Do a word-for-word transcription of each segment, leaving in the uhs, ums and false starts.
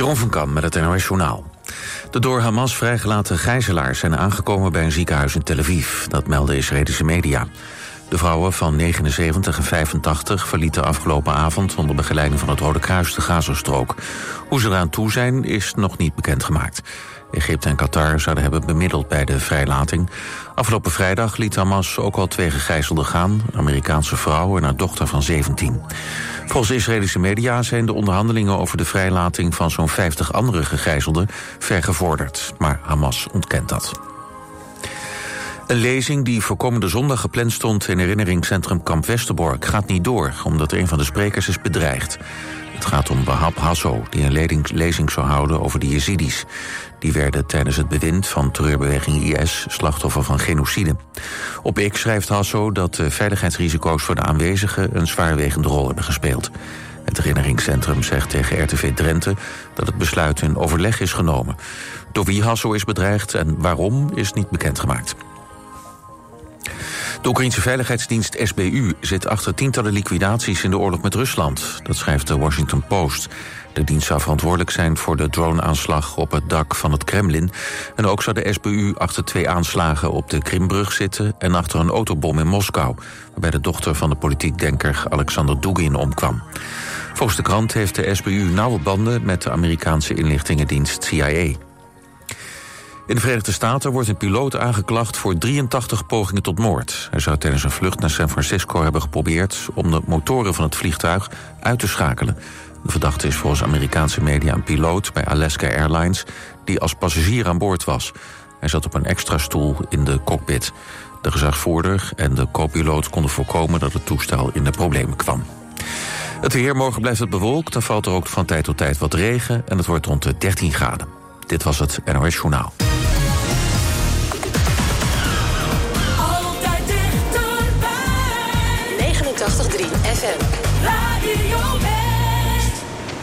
Jeroen van Kam met het N O S Journaal. De door Hamas vrijgelaten gijzelaars zijn aangekomen bij een ziekenhuis in Tel Aviv. Dat melden Israëlische media. De vrouwen van negenenzeventig en vijfentachtig verlieten afgelopen avond onder begeleiding van het Rode Kruis de Gazastrook. Hoe ze eraan toe zijn is nog niet bekendgemaakt. Egypte en Qatar zouden hebben bemiddeld bij de vrijlating. Afgelopen vrijdag liet Hamas ook al twee gegijzelden gaan, een Amerikaanse vrouw en haar dochter van zeventien. Volgens Israëlische media zijn de onderhandelingen over de vrijlating van zo'n vijftig andere gegijzelden ver gevorderd, maar Hamas ontkent dat. Een lezing die voor komende zondag gepland stond in herinneringscentrum Kamp Westerbork gaat niet door, omdat een van de sprekers is bedreigd. Het gaat om Wahab Hasso, die een lezing zou houden over de Jezidis. Die werden tijdens het bewind van terreurbeweging I S slachtoffer van genocide. Op X schrijft Hasso dat de veiligheidsrisico's voor de aanwezigen een zwaarwegende rol hebben gespeeld. Het herinneringscentrum zegt tegen R T V Drenthe dat het besluit in overleg is genomen. Door wie Hasso is bedreigd en waarom is niet bekendgemaakt. De Oekraïense veiligheidsdienst S B U zit achter tientallen liquidaties in de oorlog met Rusland. Dat schrijft de Washington Post. De dienst zou verantwoordelijk zijn voor de droneaanslag op het dak van het Kremlin. En ook zou de S B U achter twee aanslagen op de Krimbrug zitten en achter een autobom in Moskou, waarbij de dochter van de politiek denker Alexander Dugin omkwam. Volgens de krant heeft de S B U nauwe banden met de Amerikaanse inlichtingendienst C I A. In de Verenigde Staten wordt een piloot aangeklaagd voor drieëntachtig pogingen tot moord. Hij zou tijdens een vlucht naar San Francisco hebben geprobeerd om de motoren van het vliegtuig uit te schakelen. De verdachte is volgens Amerikaanse media een piloot bij Alaska Airlines die als passagier aan boord was. Hij zat op een extra stoel in de cockpit. De gezagvoerder en de co-piloot konden voorkomen dat het toestel in de problemen kwam. Het weer, morgen blijft het bewolkt, dan valt er ook van tijd tot tijd wat regen en het wordt rond de dertien graden. Dit was het N O S Journaal. Altijd dichterbij. negenentachtig komma drie F M. Radio West.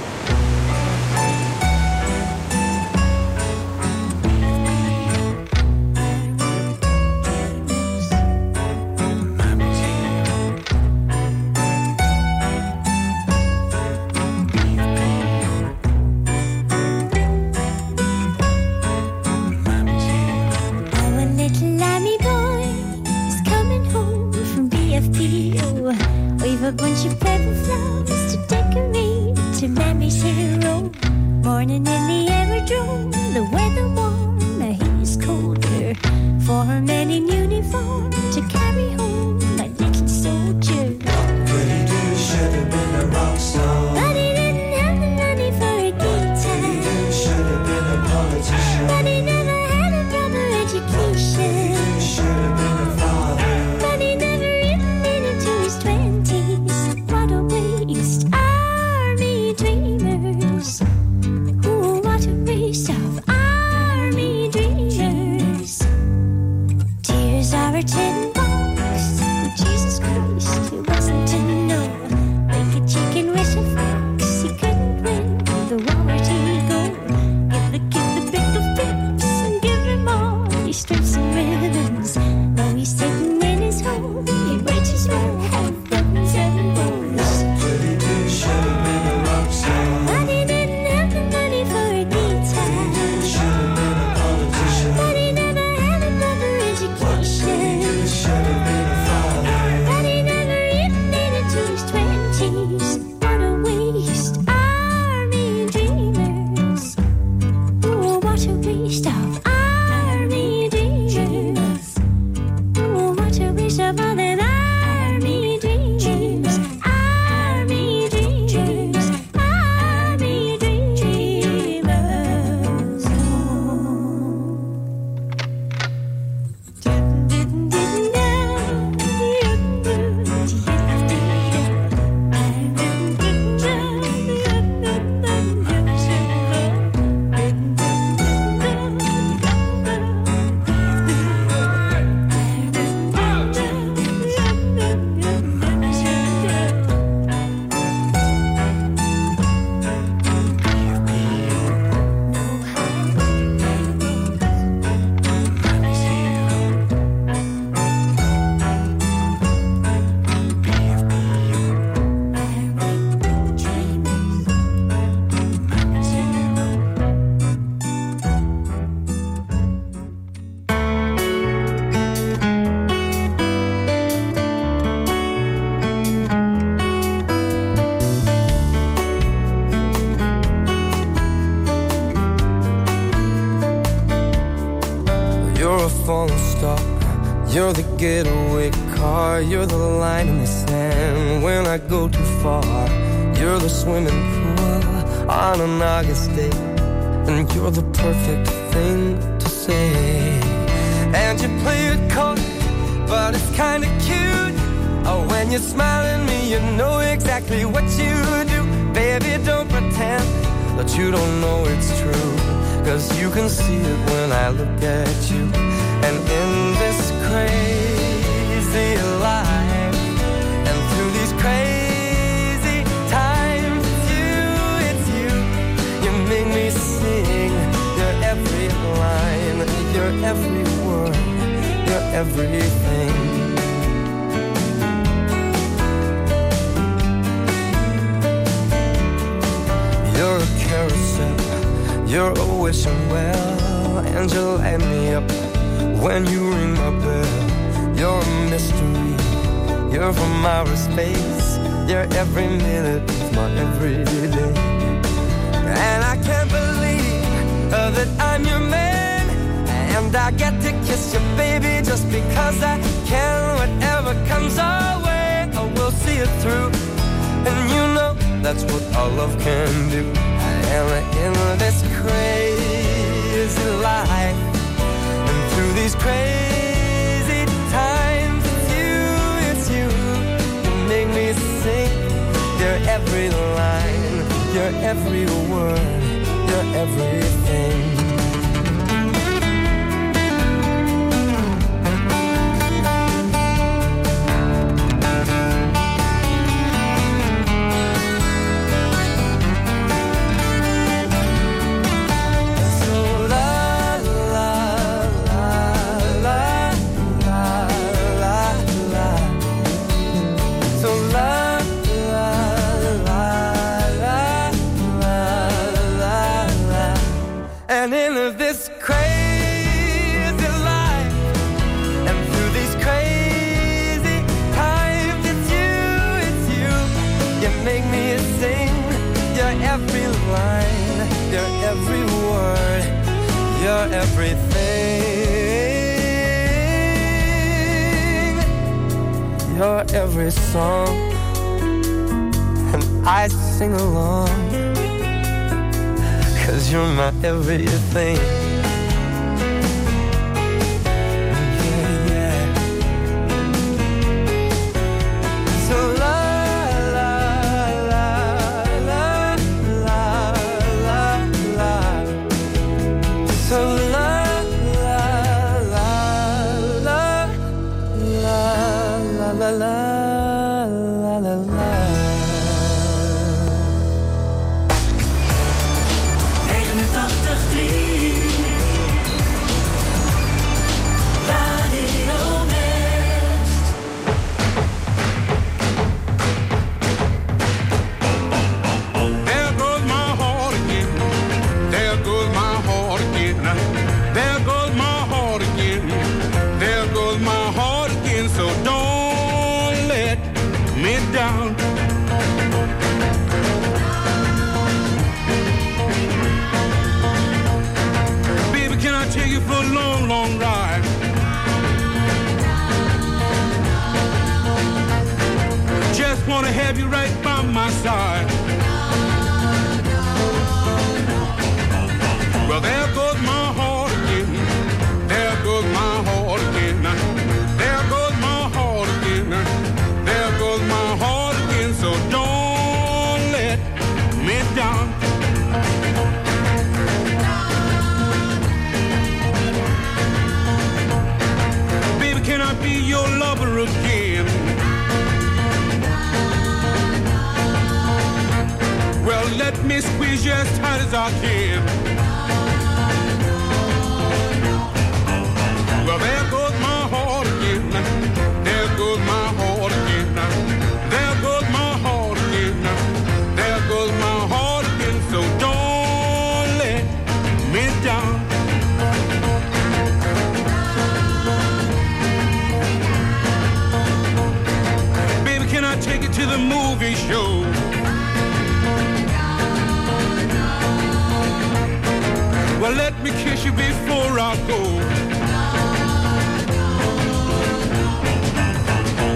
A bunch of purple flowers to decorate to Mammy's hero. Morning in the aerodrome, the weather warm, the heat is colder. For a man in uniform to carry home my little soldier. What could he do? Should have been a rock star. But he didn't have the money for a guitar. What could he do? Should have been a politician. But he never had a proper education. What could he do? Should have been a father. But he never even made it to his twenties. What a waste, army dreamers. Ooh, what a waste of army dreamers. Tears are a tin box. Jesus Christ, it wasn't to know. Like a chicken wish of You're the getaway car, you're the line in the sand when I go too far. You're the swimming pool on an August day, and you're the perfect thing to say. And you play it cold, but it's kinda cute. Oh, when you smile at me, you know exactly what you do. Baby, don't pretend that you don't know it's true, 'cause you can see it when I look at you. And in this crazy life, and through these crazy times, it's you, it's you. You make me sing your every line, your every word, your everything. You're a carousel, you're a wishing well, and you light me up when you ring my bell. You're a mystery, you're from outer space, you're every minute of my everyday. And I can't believe uh, that I'm your man, and I get to kiss you, baby, just because I can. Whatever comes our way, I will see it through. And you know that's what our love can do. And in this crazy life, and through these crazy times, it's you, it's you. You make me sing your every line, your every word, your everything. And in this crazy life, and through these crazy times, it's you, it's you. You make me sing your every line, your every word, your everything, your every song. And I sing along, 'cause you're my everything. Yeah, yeah. So la la la la la la la. So la la la la la la la la la la. Wanna have you right by my side. Well, there goes my heart again. There goes my heart again. There goes my heart again. There goes my heart again. So don't let me down. Baby, can I be your lover again? Well, let me squeeze you as tight as I can. Well, there goes my heart again. There goes my heart again. There goes my heart again. There goes my heart again. So don't let me down. Baby, can I take you to the movie show? Well, let me kiss you before I go.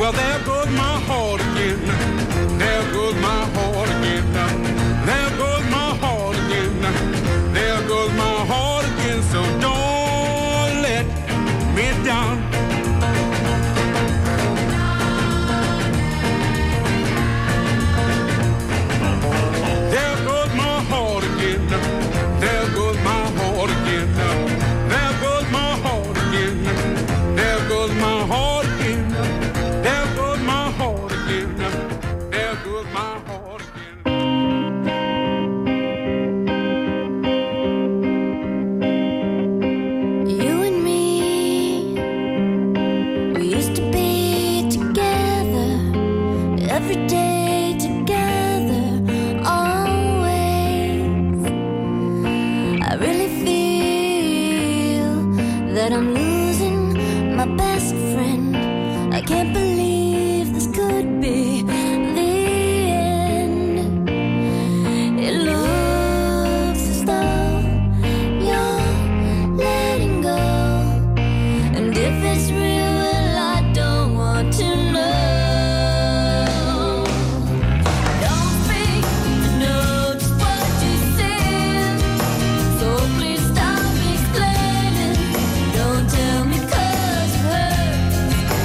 Well, there goes my heart again. There goes my heart again. There goes my heart again. There goes my heart again. So don't let me down. There goes my heart again. There goes my heart again. There goes my heart again. There goes my heart again. There goes my heart again. There goes my heart again. You and me, we used to be together every day, together always. I really feel that I'm losing my best friend. I can't believe this could be the end. It looks as though you're letting go, and if it's real, well, I don't want to know. Don't speak, I know just what you said, so please stop explaining. Don't tell me 'cause it hurts.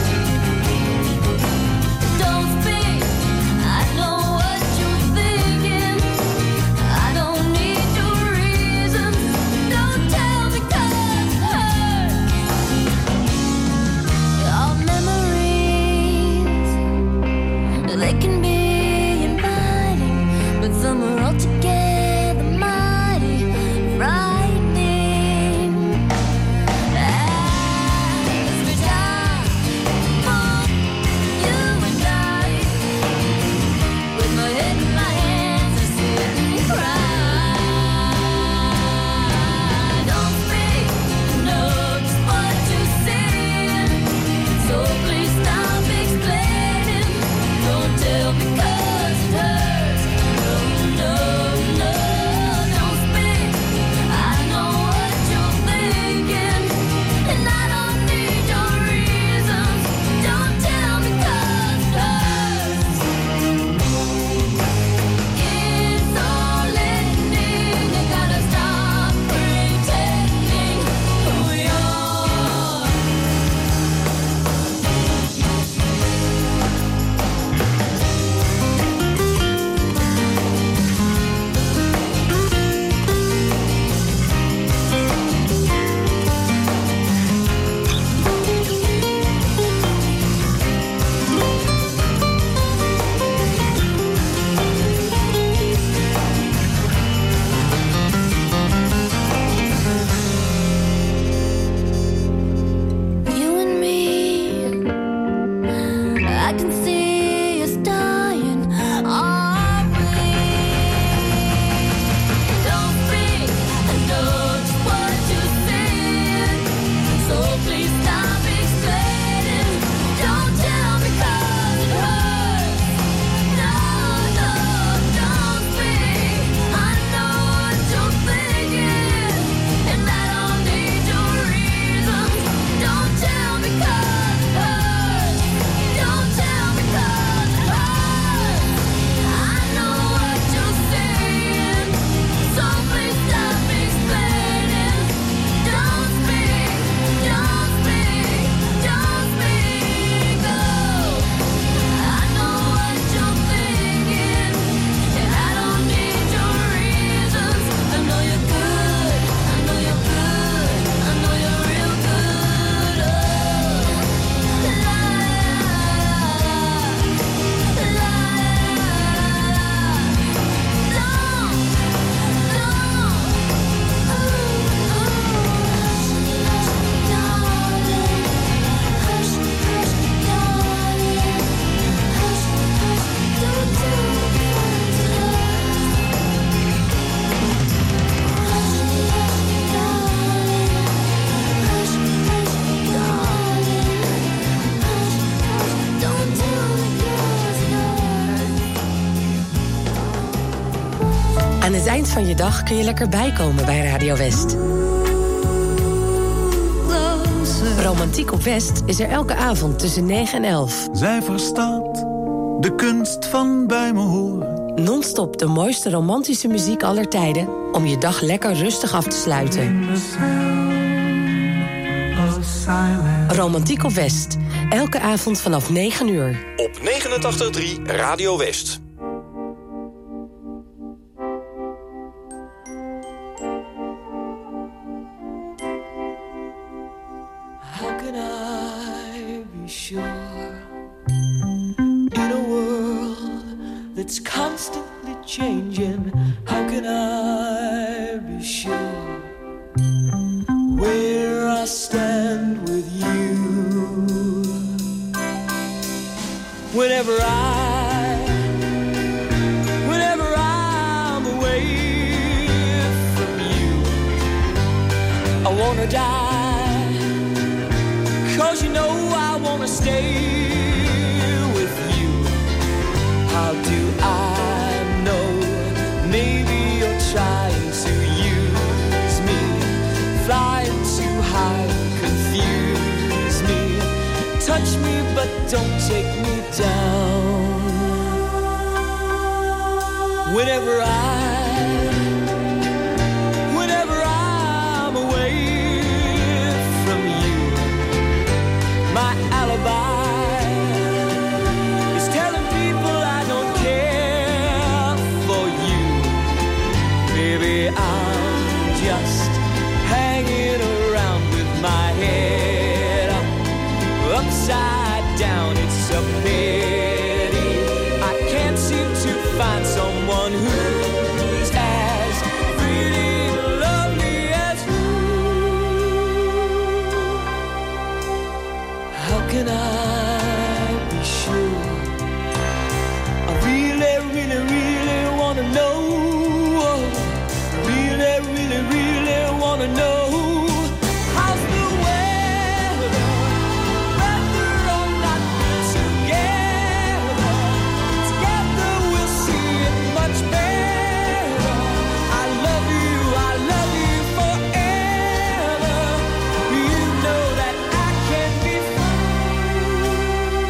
Don't speak, I know what you're thinking. I don't need your reasons. Don't tell me 'cause it hurts. Our memories, they can be inviting, but some are altogether mighty frightening. Every time for you and I, with my head in my hands, I sit and cry. Don't speak, know just what you said, so please stop explaining. Don't tell me 'cause it hurts. No, no, no, don't speak. I know what you're thinking, and I don't need your reasons. Don't tell me 'cause it hurts. It's all ending. You gotta stop pretending who you are. You and me, I can see us dying, aren't we? Don't speak, I know just what you said, so please stop explaining. Don't tell me 'cause it hurts. No, no, don't speak. I know what you're thinking, and I don't need your reasons. Don't tell me 'cause it hurts. Don't tell me 'cause it hurts. I know what you're saying, so please stop explaining. Don't speak, don't speak, don't speak. Oh, I know what you're thinking, and I don't need your reasons. I know you're good, I know you're good, I know you're real good. Oh, la la la. Don't, Aan het eind van je dag kun je lekker bijkomen bij Radio West. Close dansen. Romantiek op West is er elke avond tussen negen en elf. Zij verstaat de kunst van bij me horen. Non-stop de mooiste romantische muziek aller tijden om je dag lekker rustig af te sluiten. Romantiek op West. Elke avond vanaf negen uur. Op negenentachtig komma drie Radio West. How can I be sure in a world that's constantly changing? How can I be sure where I stand with you? Whenever I, whenever I'm away from you, I wanna die, 'cause you know I wanna stay with you. How do I know? Maybe you're trying to use me, flying too high, confuse me. Touch me, but don't take me down. Whenever I, whenever I'm away from you, my alibi is telling people I don't care for you. Maybe I'm just hanging around with my head up, upside down. It's a pity I can't seem to find someone who's as really lovely as you. How can I be sure? I really, really, really wanna know. Really, really, really wanna know. How's the weather? Whether or not we're together, together we'll see it much better. I love you, I love you forever. You know that I can't be fooled.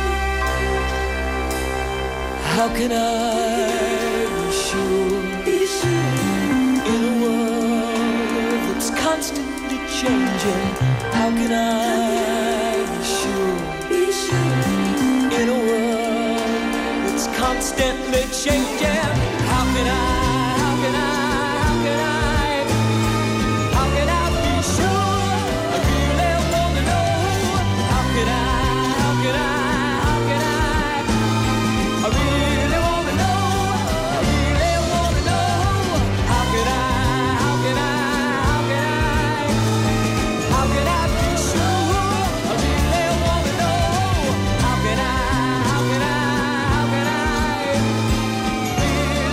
How can I be sure? In a world that's constantly changing, how can I be sure? In a world that's constantly changing, how can I, how can I, how can I, how can I be sure? I really wanna know. How can I, how can I, how can I, I really wanna know. I really wanna know. How can I, how can I, how can I, how can I be sure? I really wanna know. How can I, how can I, how can I, really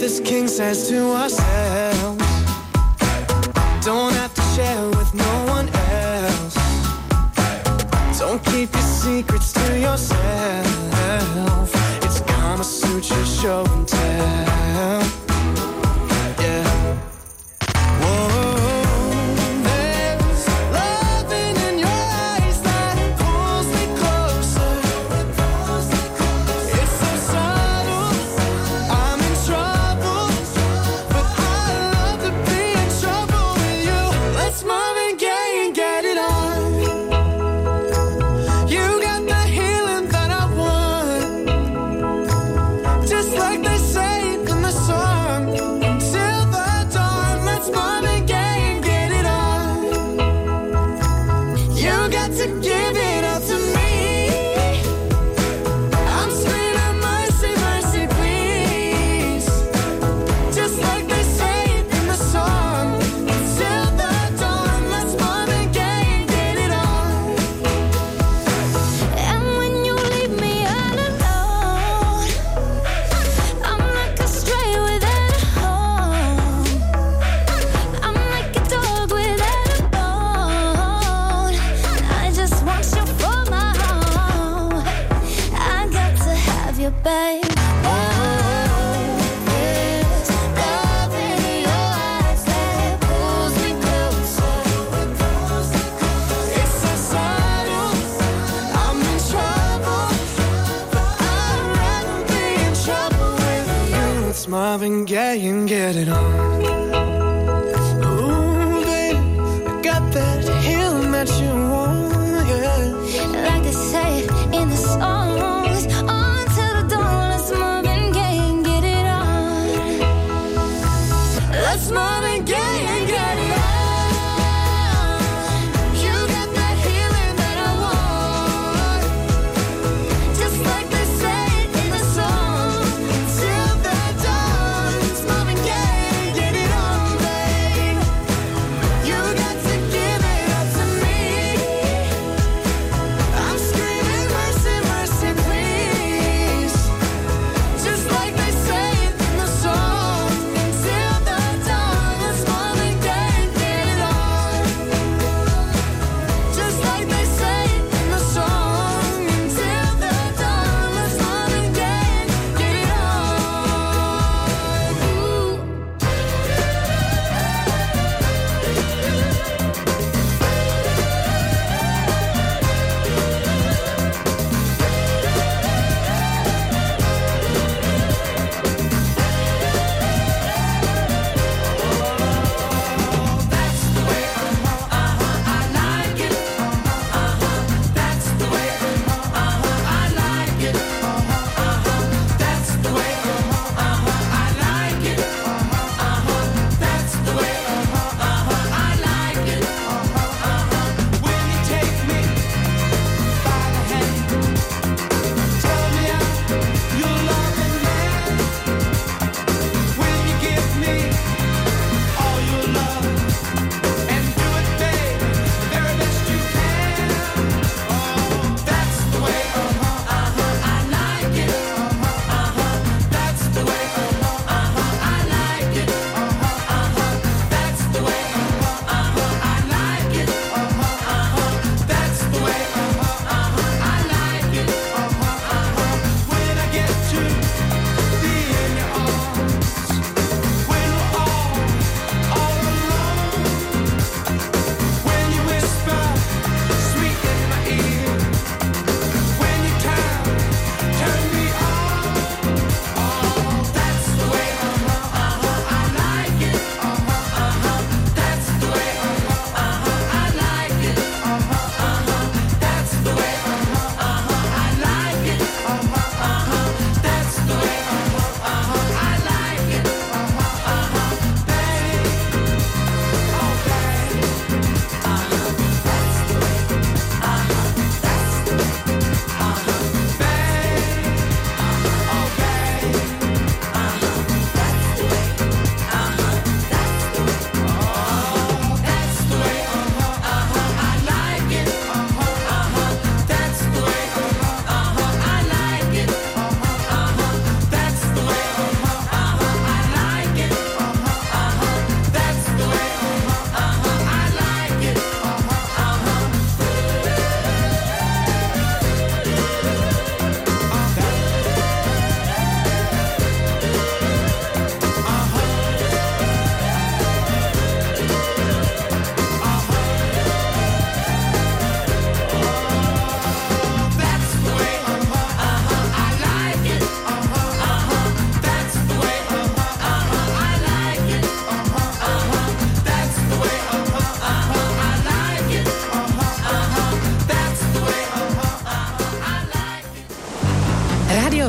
this king size to ourselves. Don't have to share with no one else. Don't keep your secrets to yourself. It's Kama Sutra show and tell. Yeah. Whoa. There's loving in your eyes that pulls me closer. It's so subtle, I'm in trouble, but I love to be in trouble with you. Let's Marvin Gaye and get it on. You got the healing that I want, just like they say in the song. Till the dawn, let's Marvin Gaye and get it on. You got to give it up to me. I'm screaming mercy, mercy, please. Just like they say in the song. Till the dawn, let's Marvin Gaye and get it on. And when you leave me all alone, I'm like a stray without a home. I'm like a dog without a bone. I just want you for my home. I got to have you, babe. Oh, there's love in your eyes that pulls me closer. It's so subtle, I'm in trouble, but I'd rather be in trouble with you. Let's Marvin Gaye and get it on. Ooh, baby, I got that healing that you want, yeah. Like they say in the songs, on to the dawn, let's Marvin Gaye and get it on. Let's Marvin Gaye and get it on. You got that healing that I want, Just like they say in the song. till the dawn. Let's Marvin Gaye and get it on, babe. You got to give it up to me. I'm screaming mercy, mercy, please. Just like they say in the song. Till the dawn, let's Marvin Gaye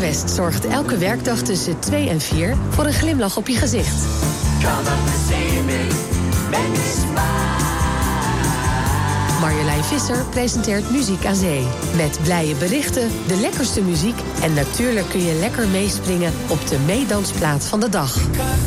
West zorgt elke werkdag tussen twee en vier voor een glimlach op je gezicht. Come up and see me, make me smile. Marjolein Visser presenteert Muziek aan Zee. Met blije berichten, de lekkerste muziek en natuurlijk kun je lekker meespringen op de meedansplaat van de dag.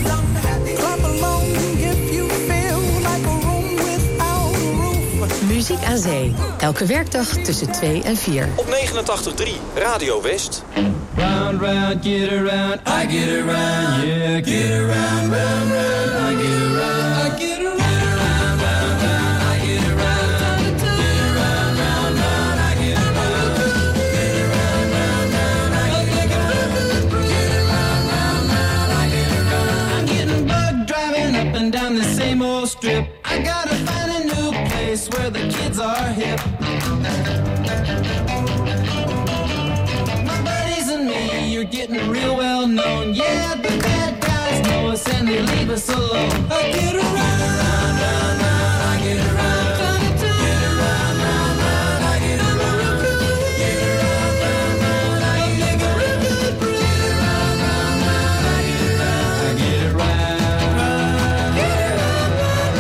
Muziek aan Zee. Elke werkdag tussen twee en vier. Op negenentachtig komma drie Radio West. Round, round, get around, I get around, yeah, get around, round, round, I get around, I get around, round, round, round, I get around, get around, round, round, I get around, get around, round, round, I get around, get around, round, round, I get around. I'm getting bugged driving up and down the same old strip. I gotta find a new place where the kids are hip. You're getting real well known. Yeah, the bad guys know us and they leave us alone. I get around, round, round, round, I get around. Get around, round, round, I get around. Get around, round, round, I get around. Get around, round, round, I get around. I get around. Get around, round,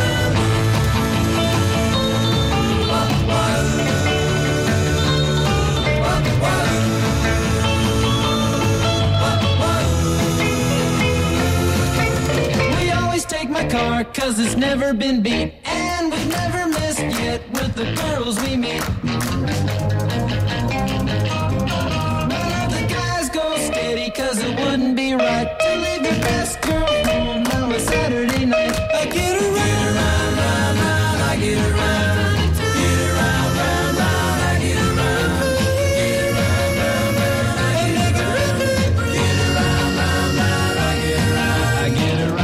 take my car, cause it's never been beat. And we've never missed yet with the girls we meet. None of the guys go steady, cause it wouldn't be right to leave your best girl home on a Saturday night. I get around, round, round, round, I get around. Get around, round, round, I get around. Get around, round, round, I get around. Get around, round, round, I get around. I get around.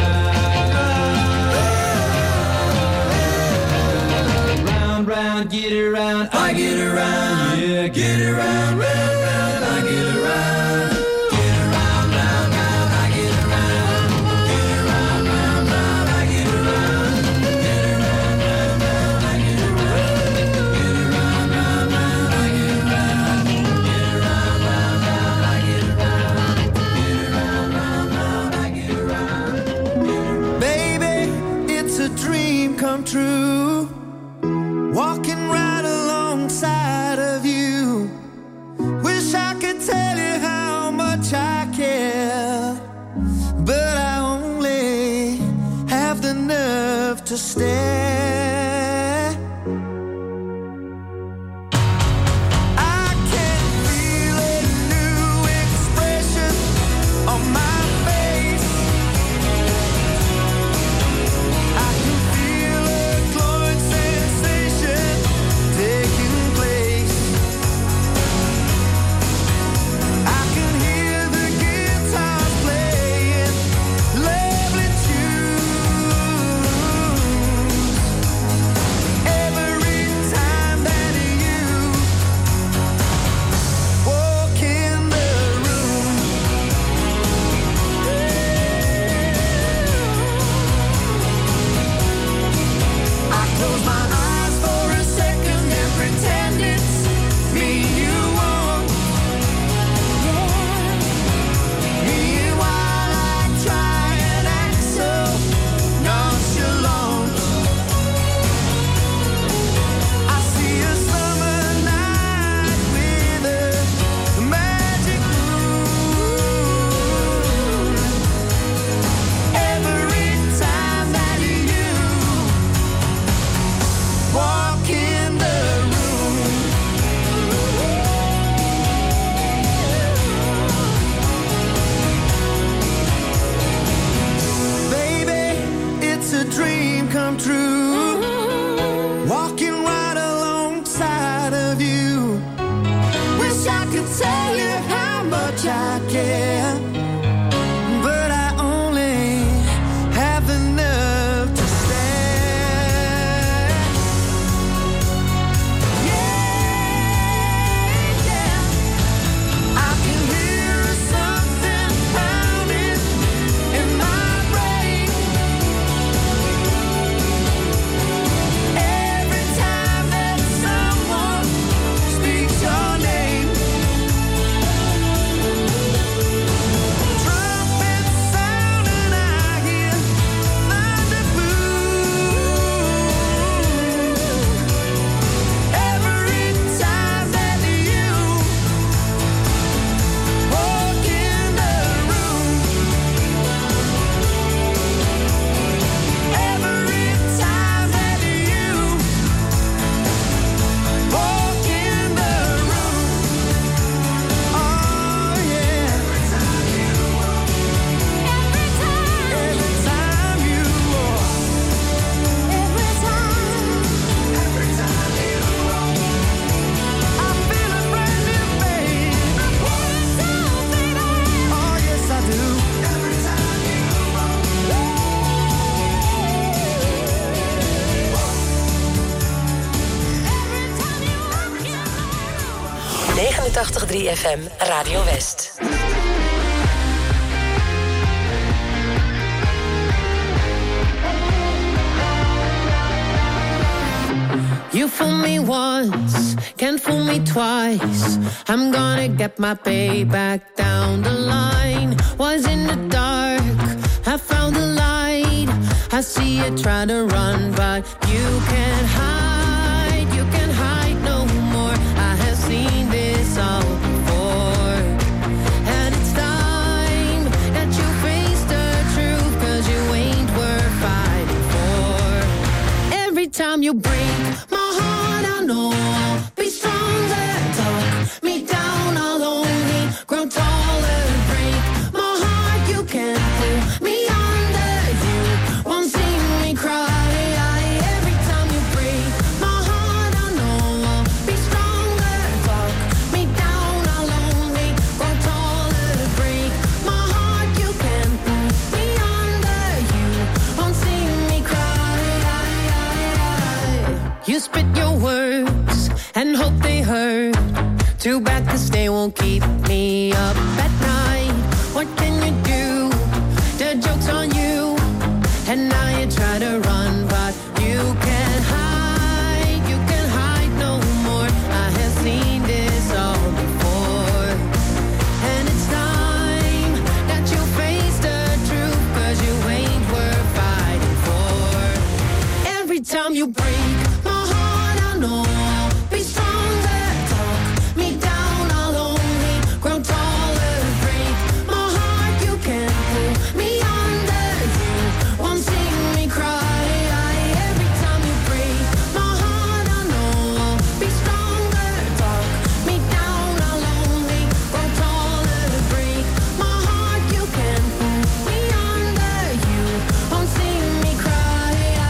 Round, get around, I get around, yeah, get around, round, round, I get around, get around, round, round, I get around, get around, round, round, I get around, get around, round, round, I get around, get around, round, round, I get around, get around, round, round, I get around, get around, round, round, I get around. Baby, it's a dream come true. Walking right alongside of you. Wish I could tell you how much I care, but I only have the nerve to stare. I can feel a new expression on my face. I can feel a glowing sensation taking place. I can hear the guitars playing lovely tunes. Every time that you walk in the room, I close my eyes for a second and pretend it's me you want. Meanwhile I try and act so nonchalant. I see a summer night with a magic moon. Every time that you walk in the room, baby, it's a dream come true. Walking right alongside of you. Wish I could tell you how much I care, but I only have the nerve to stare. Yeah, yeah. I can hear something pounding in my brain. Every time that someone speaks your name, negenentachtig komma drie F M Radio West. You fool me once, can't fool me twice. I'm gonna get my payback down the line. Was in the dark, I found the light. I see you try to run, but you can't hide. You can't hide no more. I have seen this all before. And it's time that you face the truth, 'cause you ain't worth fighting for. Every time you break my heart, I know I'll be stronger. Talk me down, I'll only grow taller. Break my heart, you can't pull me under. You won't see me cry. Every time you break my heart, I know I'll be stronger. Talk me down, I'll only grow taller. Break my heart, you can't pull me under. You won't see me cry. You spit your words and hope they hurt. Too bad 'cause they won't keep me up at night. What can you do? The joke's on you. And now you try to run, but you can't hide. You can't hide no more. I have seen this all before. And it's time that you face the truth, 'cause you ain't worth fighting for. Every time you break my heart, I know I'll be stronger. Talk me down, I'll only grow taller. Break my heart, you can't pull me under. You won't see me cry. Every time you break my heart, I know I'll be stronger. Talk me down, I'll only grow taller. Break my heart, you can't pull me under. You won't see me cry.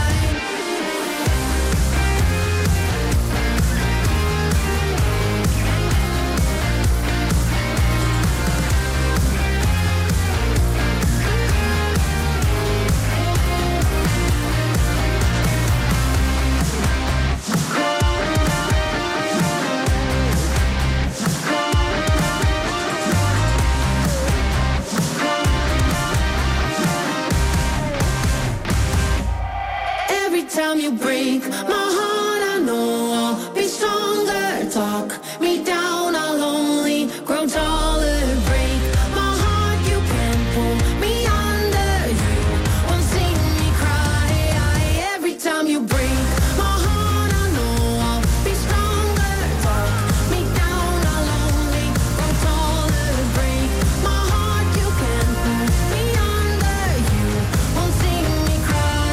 Every time you break my heart, I know I'll be stronger. Talk me down, I'll only grow taller. Break my heart, you can't pull me under. You won't see me cry. Every time you break my heart, I know I'll be stronger. Talk me down, I'll only grow taller. Break my heart, you can't pull me under. You won't see me cry.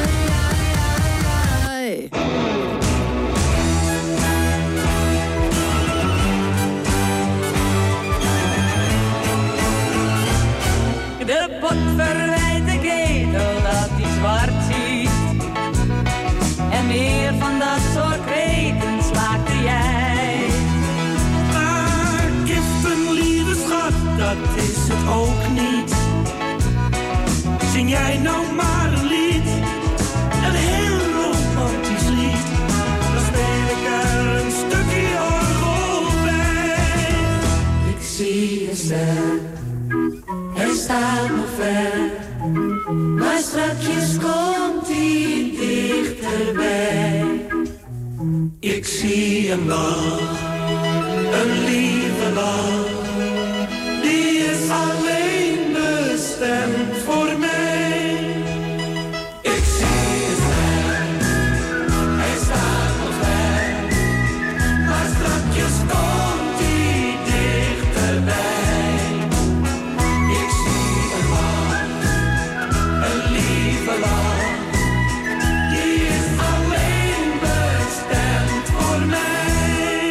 De pot verwijt de ketel dat hij zwart ziet. En meer van dat soort kreten smaakte jij. Maar giften, lieve schat, dat is het ook niet. Zing jij nou maar een lied, een heel romantisch lied. Dan speel ik er een stukje orgel bij. Ik zie een ster, hij staat nog ver. Maar strakjes komt hij dichterbij. Ik zie een lach, een lieve lach. Die is alleen bestemd voor mij. Ik zie een ster, hij staat nog ver. Maar strakjes komt hij dichterbij. Ik zie een lach, een lieve lach. Die is alleen bestemd voor mij.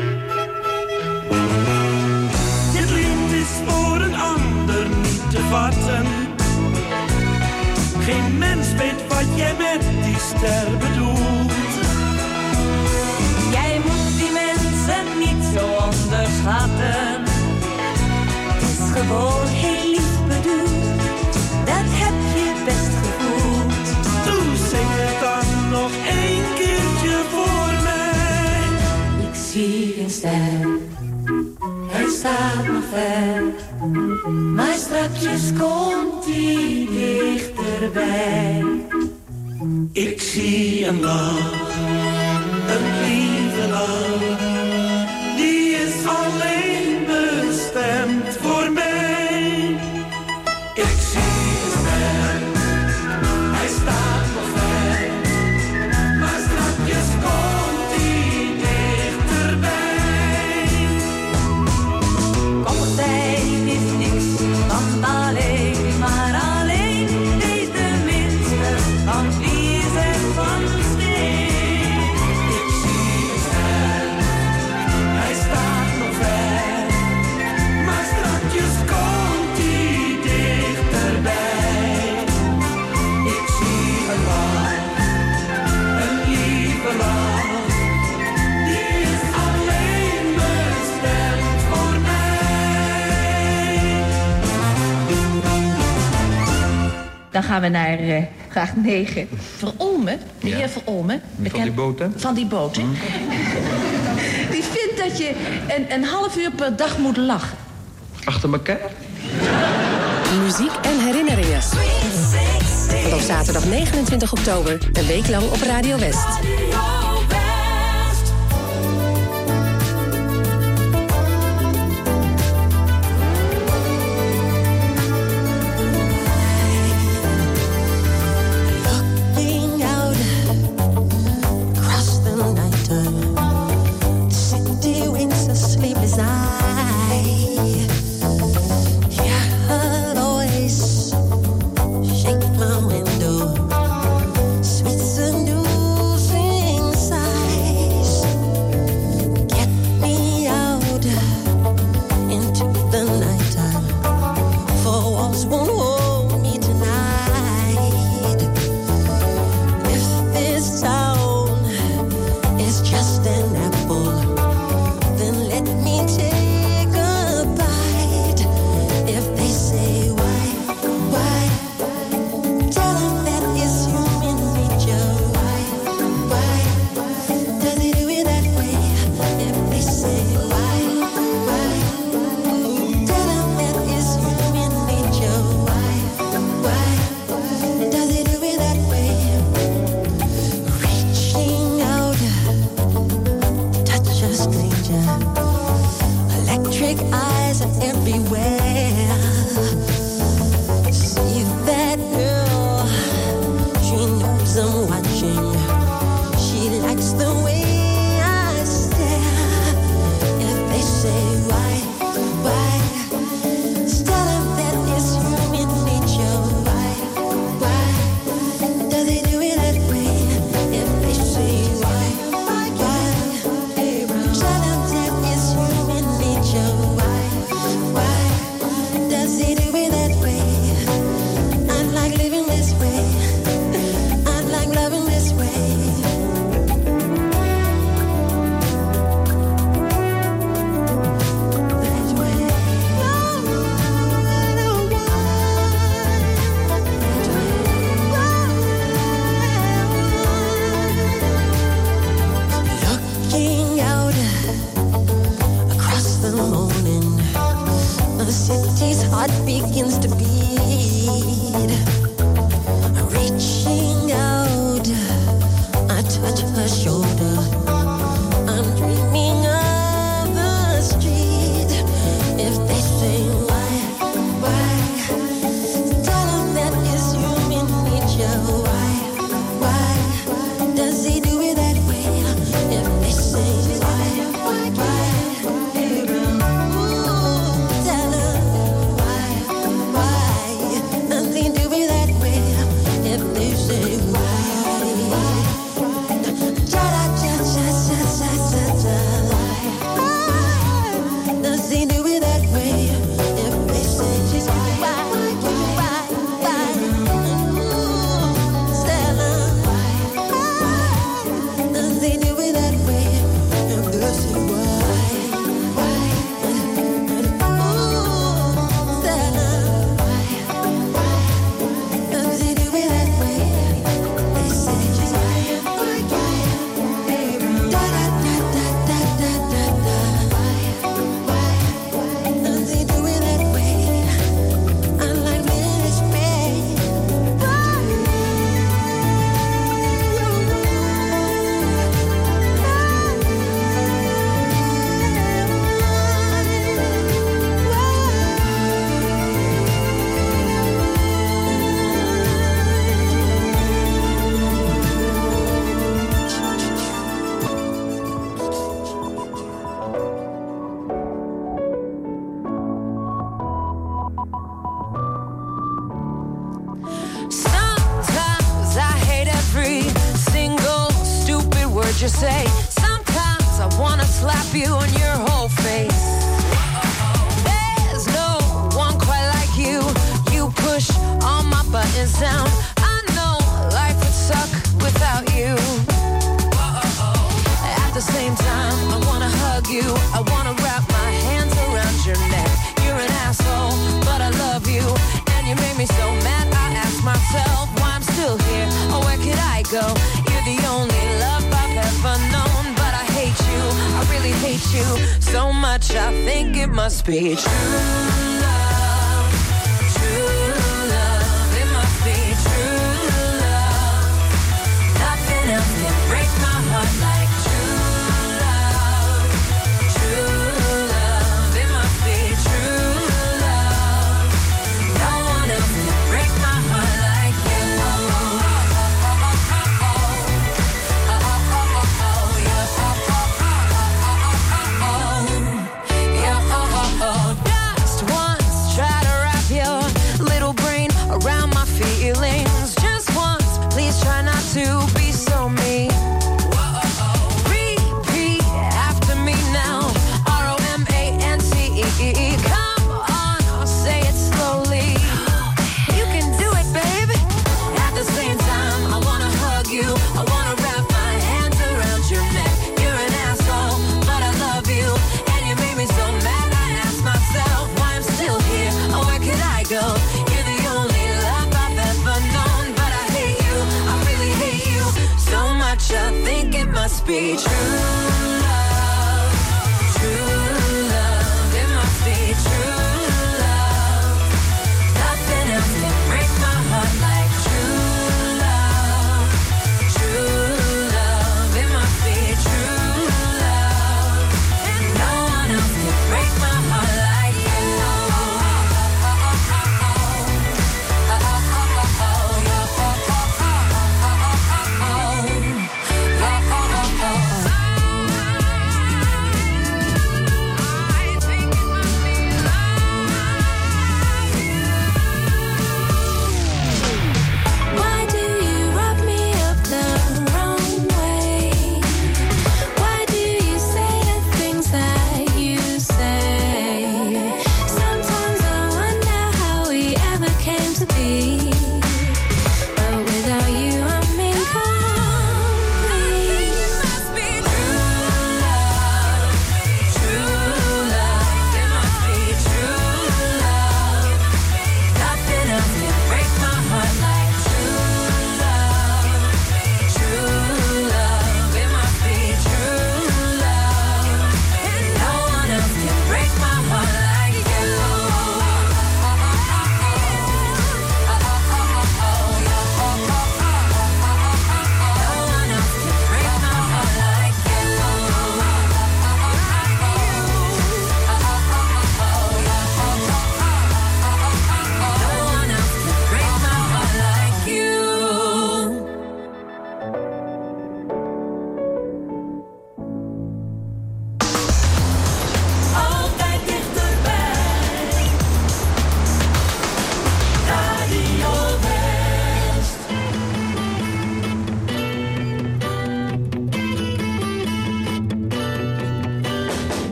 Dit lied is voor een ander niet te vatten. Geen mens weet wat jij met die ster bedoelt. Jij moet die mensen niet zo onderschatten. Het is gewoon heel lief bedoeld. Dat heb je best gevoeld. Toen zing het dan nog één keertje voor mij. Ik zie een ster. ver. Maar strakjes komt hij dichterbij. Ik zie een lach, een lieve lach. Die is alleen bestemd voor mij. Ik zie een ster, hij staat nog ver. Maar strakjes komt hij dichterbij. Kommertijd is niks, want alleen maar alleen is de minste van vlies en van steen. Ik zie een ster, hij staat nog ver. Maar strakjes komt hij dichterbij. Ik zie een lach, een lieve lach. Die is alleen bestemd voor mij. Dan gaan we naar uh, vraag negen. Verolmen, de heer Verolmen. Van die boot, hè? Van die boot, hè? Die vindt dat je een, een half uur per dag moet lachen. Achter elkaar? Muziek en herinneringen. Vanaf zaterdag negenentwintig oktober, een week lang op Radio West. Looking out across the nighttime, the city winks a sleepless eye. Yeah, her voice shake my window, sweet seducing sighs. Get me out into the nighttime, for walls won't hold me tonight. If this town is just an apple, then let me take a bite. If they say why, why, tell them that it's human nature. Why, why, does he do it that way? If they say why, why, tell them that it's human nature. Why, why, does he do it that way? Reaching out, touch a stranger. Electric eyes are everywhere. See that girl, she knows I'm watching. She likes the way I stare. If they say why, why, tell them that it's human nature. Why, why, does he do it that way? If they say why, why, tell them that it's human nature. Why, why, does he do it that way? I'd like living this way. I'd like loving this way. you say? Sometimes I wanna slap you on your whole face. There's no one quite like you. You push all my buttons down. I know life would suck without you. At the same time, I wanna hug you. I wanna wrap my hands around your neck. You're an asshole, but I love you. And you made me so mad, I ask myself why I'm still here. Or where could I go? You're the only love I've ever known. But I hate you, I really hate you so much, I think it must be true love. True love, it must be true love. Nothing else can break my heart like true love. True love, it must be true love. No one else can break my heart like you. Just once, try to wrap your little brain around my feelings. Just once, please try not to be so mean. Repeat after me now. R O M A N C E. Come on, I'll say it slowly. You can do it, baby. At the same time, I wanna hug you. I wanna wrap my hands around your neck. You're an asshole, but I love you. And you made me so mad, I ask myself why I'm still here. Or where could I go? You're the only love I've ever known. But I hate you, I really hate you so much, I think it must be true love. True love, it must be true love. Nothing else can break my heart like true love. True love, it must be true love. And no one else can break my heart like you.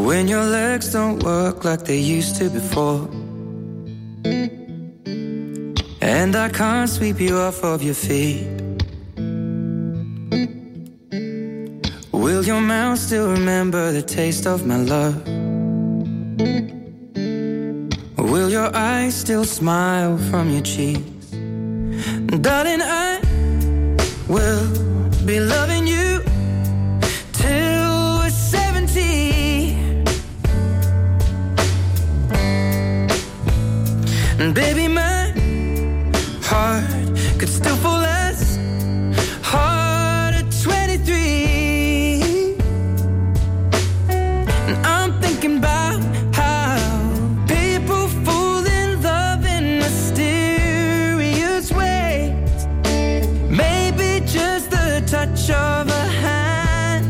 when your legs don't work like they used to before, and I can't sweep you off of your feet. Will your mouth still remember the taste of my love? Will your eyes still smile from your cheeks? Darling, I will be loving you till we're seventy. And baby, my heart could still fall as hard at twenty-three. And I'm thinking about how people fall in love in mysterious ways. Maybe just the touch of a hand.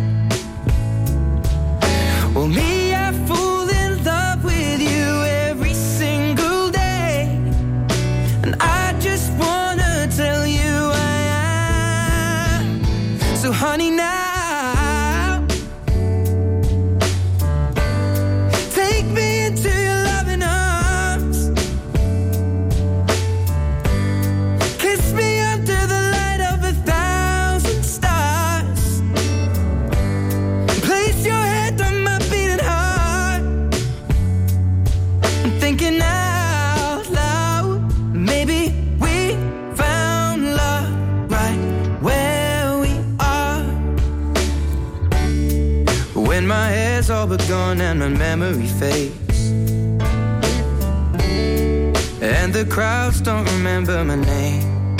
Well, me, I fall in love with you every single day, and I just wanna tell you I am. So honey, now take me into your loving arms. Kiss me under the light of a thousand stars. Place your head on my beating heart. I'm thinking out loud, maybe we found love right where we are. When my hair's all but gone and my memory fades, and the crowds don't remember my name,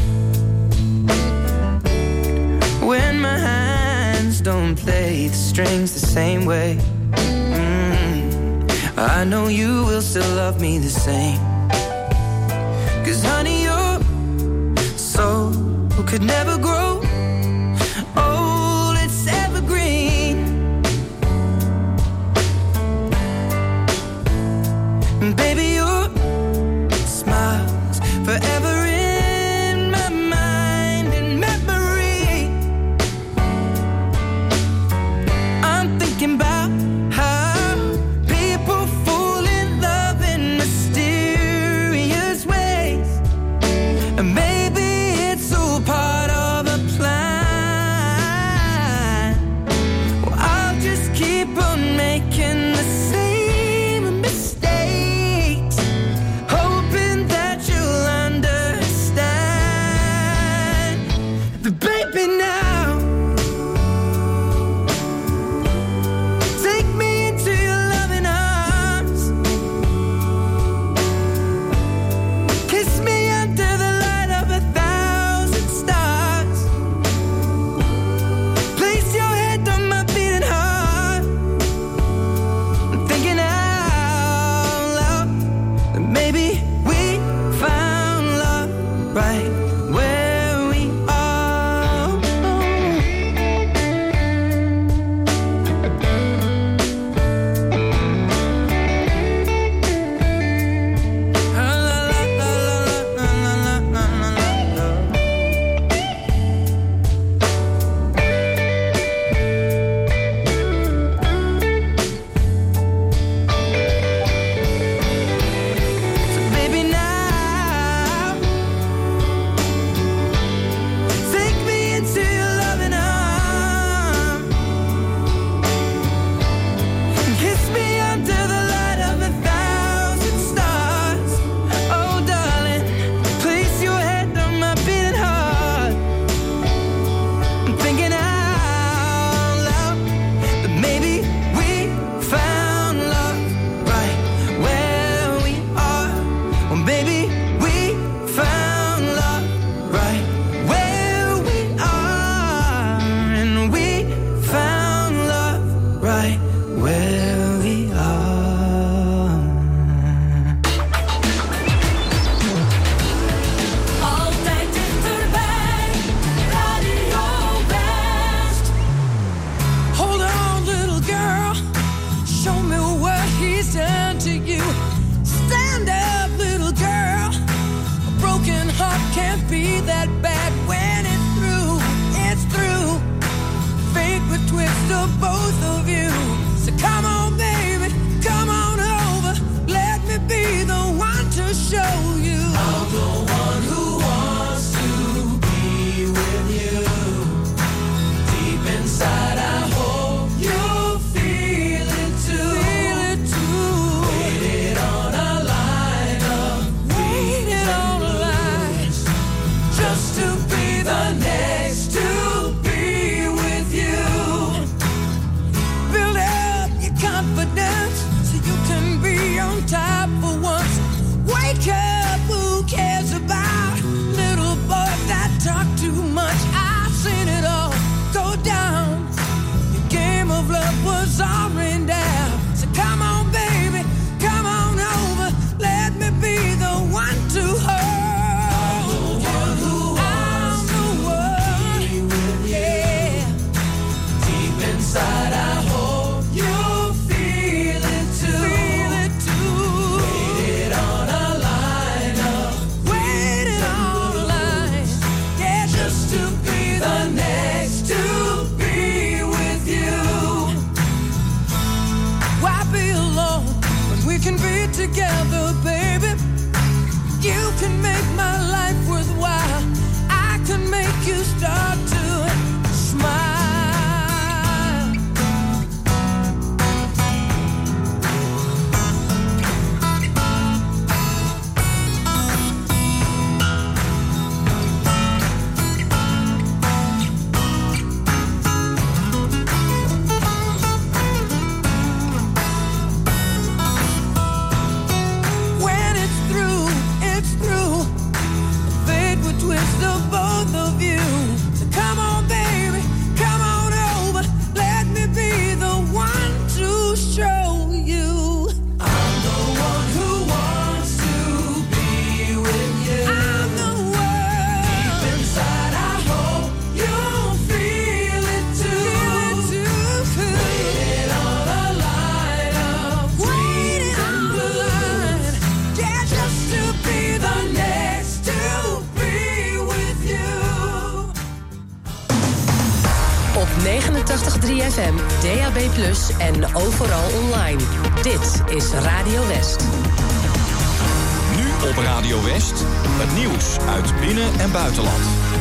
when my hands don't play the strings the same way, mm, I know you will still love me the same. 'Cause honey, your soul could never grow old, it's evergreen. And baby, your smile's forever in my mind and memory. I'm thinking about how people fall in love in mysterious ways, and maybe it's all part of a plan. Well, I'll just keep on making the same mistakes, hoping that you'll understand. The baby, now take me into your loving arms. Kiss me under the light of a thousand stars. Place your head on my beating heart. I'm thinking out loud that maybe we found love right where we are. La, la, la, la, la, la, la, la, la, la. So baby, now take me into your loving arms. Kiss me under the light of a thousand stars. Oh darling, place your head on my beating heart. I'm thinking out loud that maybe we found love right where we are. Well, maybe we found love right where we are, and we found love right where we are. Altijd dichterbij, Radio West. Hold on, little girl. Show me what he's done to you. Stand up, little girl. A broken heart can't be that bad when it's through. It's through. Fate would twist of both of you. So come on, baby. eenentachtig komma drie F M, D A B plus, en overal online. Dit is Radio West. Nu op Radio West, het nieuws uit binnen- en buitenland.